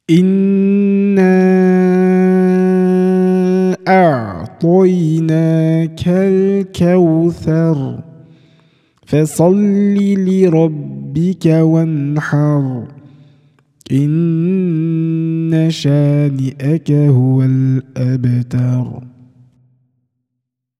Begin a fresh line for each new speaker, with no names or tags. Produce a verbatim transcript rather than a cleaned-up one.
إنا أعطيناك الكوثر فصل لربك وانحر إن شانئك هو الأبتر.